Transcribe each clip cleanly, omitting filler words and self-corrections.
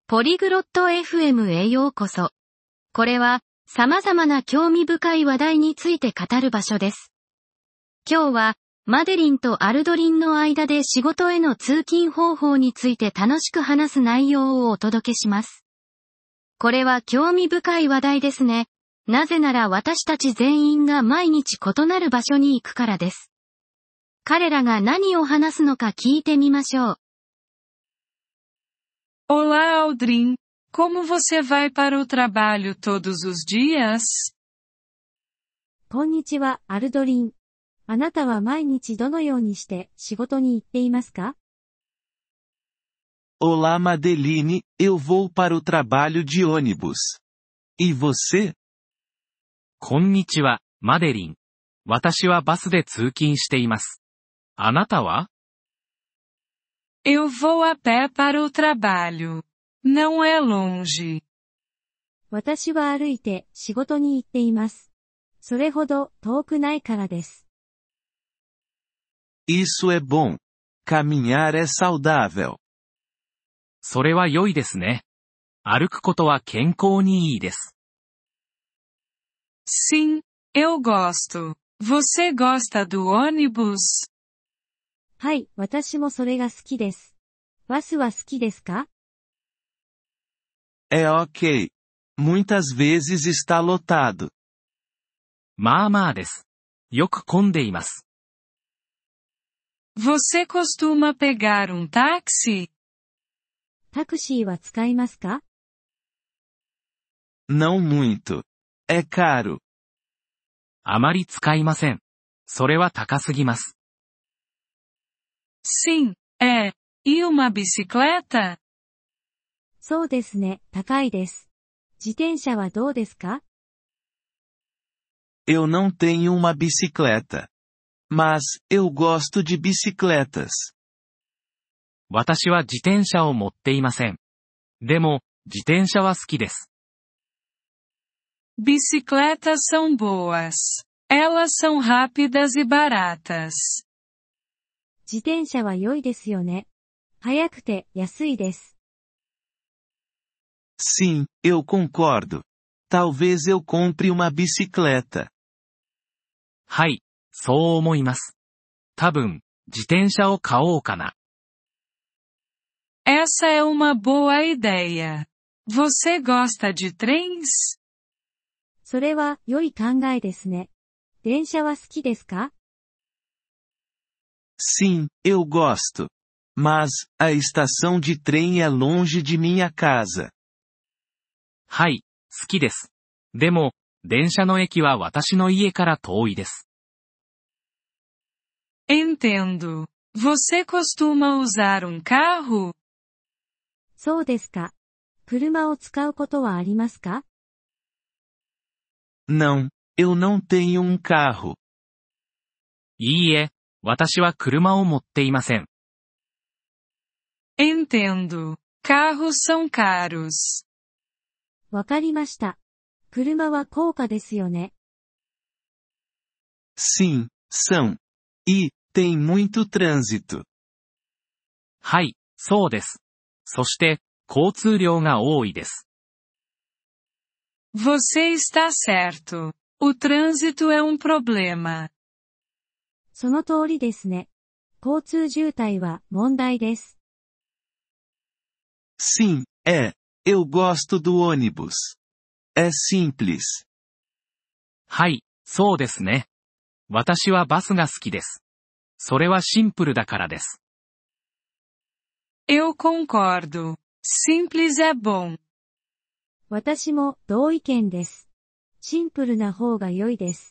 ポリグロット FM へようこそ。これは、様々な興味深い話題について語る場所です。今日は、マデリンとアルドリンの間で仕事への通勤方法について楽しく話す内容をお届けします。これは興味深い話題ですね。なぜなら私たち全員が毎日異なる場所に行くからです。彼らが何を話すのか聞いてみましょう。 Olá, Aldrin. Como você vai para o trabalho todos os dias? こんにちは、アルドリン。あなたは毎日どのようにして仕事に行っていますか？ Olá, Madeline, eu vou para o trabalho de ônibus. E você? こんにちは、マデリン。私はバスで通勤しています。あなたは？ Eu vou a pé para o trabalho. Não é longe. 私は歩いて仕事に行っています。それほど遠くないからです。 Isso é bom. Caminhar é saudável. それは良いですね。歩くことは健康にいいです。 Sim, eu gosto. Você gosta do ônibus? はい、私もそれが好きです。バスは好きですか？ É ok. Muitas vezes está lotado. まあまあです。よく混んでいます。 Você costuma pegar táxi? タクシーは使いますか？ Não muito. É caro. あまり使いません。それは高すぎます。 Sim, é. E uma bicicleta? そうですね、高いです。自転車はどうですか？ Eu não tenho uma bicicleta. Mas, eu gosto de bicicletas. 私は自転車を持っていません。でも、自転車は好きです。 Bicicletas são boas. Elas são rápidas e baratas. 自転車は良いですよね。速くて安いです。 Sim, eu concordo. Talvez eu compre uma bicicleta. はい、そう思います。多分、自転車を買おうかな。 Essa é uma boa ideia. Você gosta de trens? それは良い考えですね。電車は好きですか？ Sim, eu gosto. Mas, a estação de trem é longe de minha casa. はい、好きです。でも、電車の駅は私の家から遠いです。 Entendo. Você costuma usar carro? そうですか。車を使うことはありますか？ Não, eu não tenho carro. いいえ、私は車を持っていません。 Entendo. Carros são caros. わかりました。車は高価ですよね。 Sim, são. E, tem muito trânsito. はい、そうです。そして、交通量が多いです。 Você está certo. O trânsito é problema. その通りですね。交通渋滞は問題です。 Sim, é. Eu gosto do ônibus. É simples. はい、そうですね。私はバスが好きです。それはシンプルだからです。 Eu concordo. Simples é bom. 私も同意見です。シンプルな方が良いです。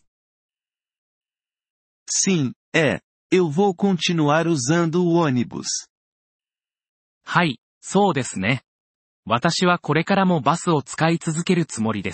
Sim, é. Eu vou continuar usando o ônibus. はい、そうですね。私はこれからもバスを使い続けるつもりです。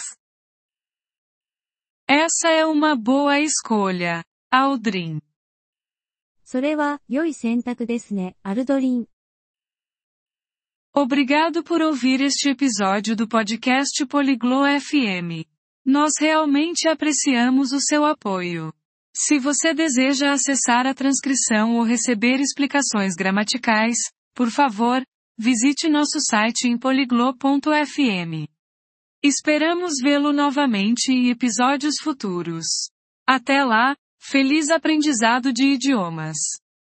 Essa é uma boa escolha, Aldrin. それは良い選択ですね、アルドリン。 Obrigado por ouvir este episódio do podcast Poliglo FM. Nós realmente apreciamos o seu apoio. Se você deseja acessar a transcrição ou receber explicações gramaticais, por favor, Visite nosso site em poliglo.fm. Esperamos vê-lo novamente em episódios futuros. Até lá, feliz aprendizado de idiomas!